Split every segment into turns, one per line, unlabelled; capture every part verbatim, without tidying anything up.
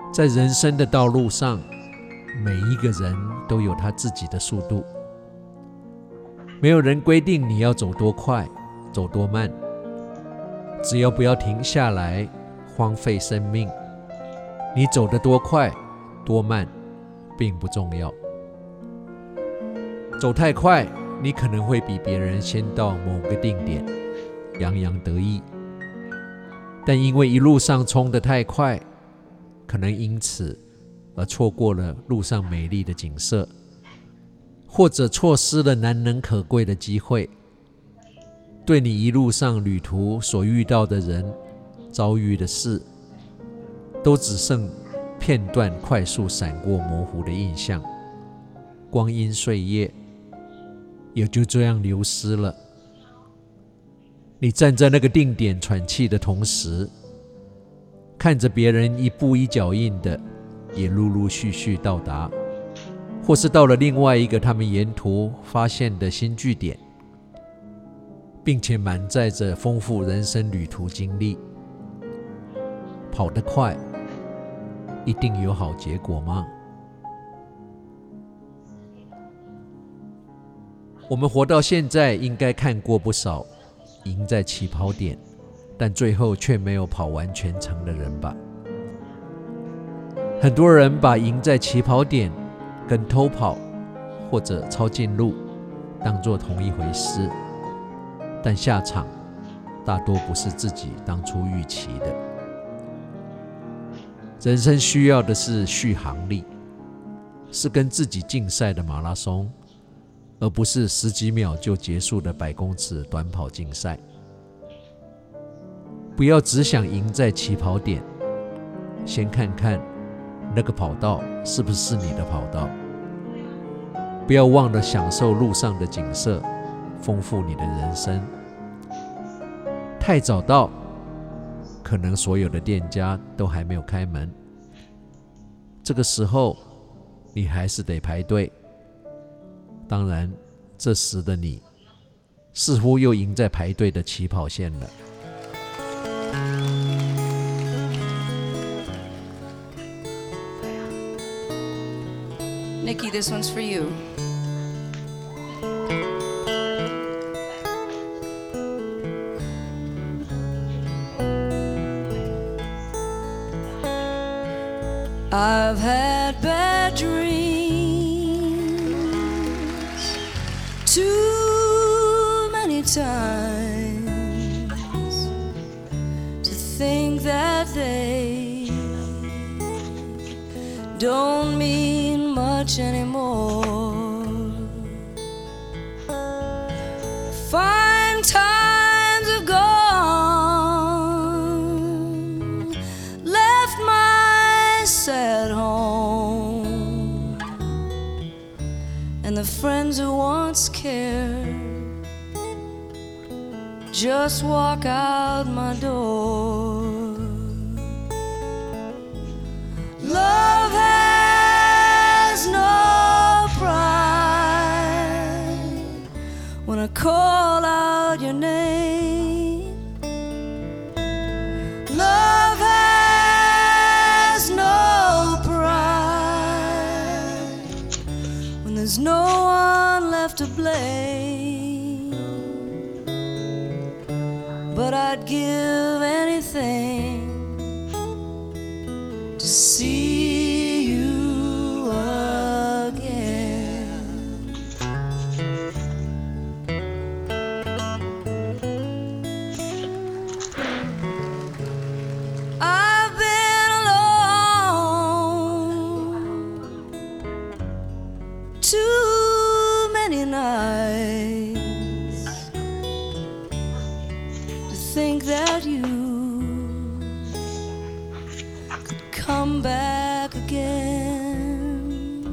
在人生的道路上，每一個人都有他自己的速度，沒有人規定你要走多快，走多慢，只要不要停下來，荒廢生命，你走得多快多慢並不重要。走太快，你可能會比別人先到某個定點，洋洋得意，但因為一路上衝得太快，可能因此而錯過了路上美麗的景色，或者錯失了難能可貴的機會，對你一路上旅途所遇到的人、遭遇的事，都只剩片段快速閃過模糊的印象，光陰歲月也就這樣流失了。你站在那個定點喘氣的同時，看着別人一步一腳印的也陸陸續續到達，或是到了另外一個他們沿途發現的新據點，並且滿載着豐富人生旅途經歷。跑得快，一定有好結果嗎？我們活到現在，應該看過不少贏在起跑點，但最後卻沒有跑完全程的人吧？很多人把贏在起跑點跟偷跑或者抄近路當作同一回事，但下場大多不是自己當初預期的。人生需要的是續航力，是跟自己競賽的馬拉松，而不是十幾秒就結束的百公尺短跑競賽。不要只想贏在起跑點，先看看那個跑道是不是你的跑道。不要忘了享受路上的景色，豐富你的人生。太早到，可能所有的店家都還沒有開門，這個時候你還是得排隊。當然，這時的你似乎又贏在排隊的起跑線了。
Nikki, this one's for you. I've had bad dreams too many times to think that they don't mean much anymore. Fine times have gone, left my sad home, and the friends who once cared just walk out my door. Love has no pride when I call out your name. Love has no pride when there's no one left to blame. But I'd give anything to see you again. I've been alone too many nights to think that you could come back again.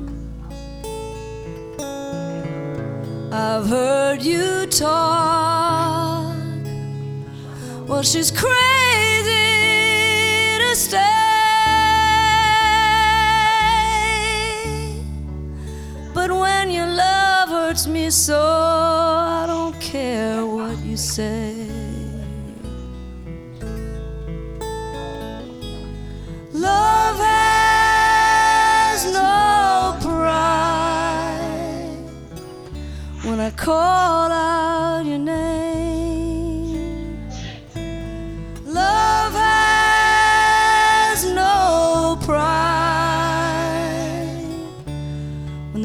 I've heard you talk, well, she's crazy to stay. But when your love hurts me so, I don't care what you say. Love has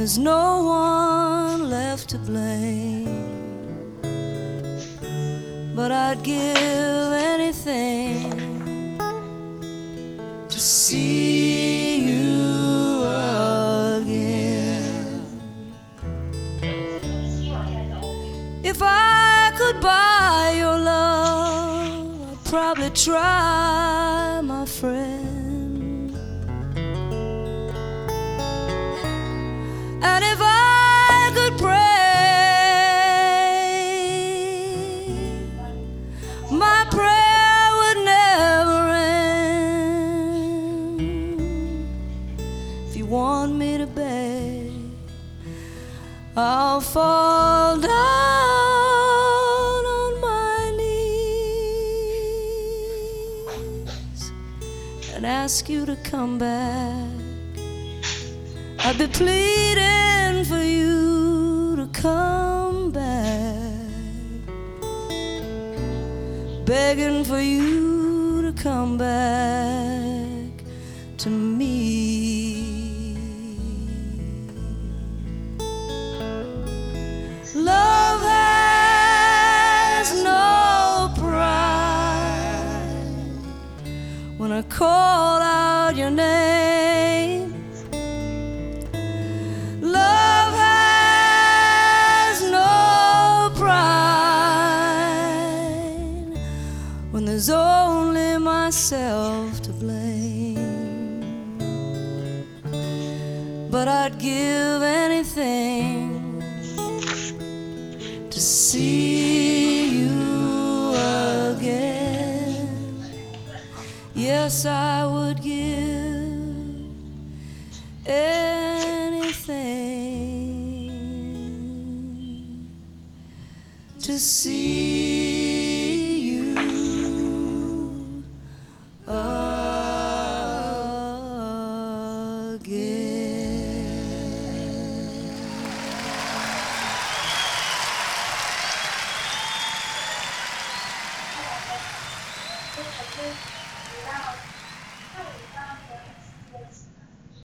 there's no one left to blame. But I'd give anything to see you again. If I could buy your love, I'd probably try, my friend. And if I could pray, my prayer would never end. If you want me to beg, I'll fall down on my knees and ask you to come back. I'd be pleading for you to come back, begging for you to come back to me. Love has no pride. When I call out your name, love has no pride. When there's only myself to blame. But I'd give anything to see you again. Yes, I would give anything to see you again.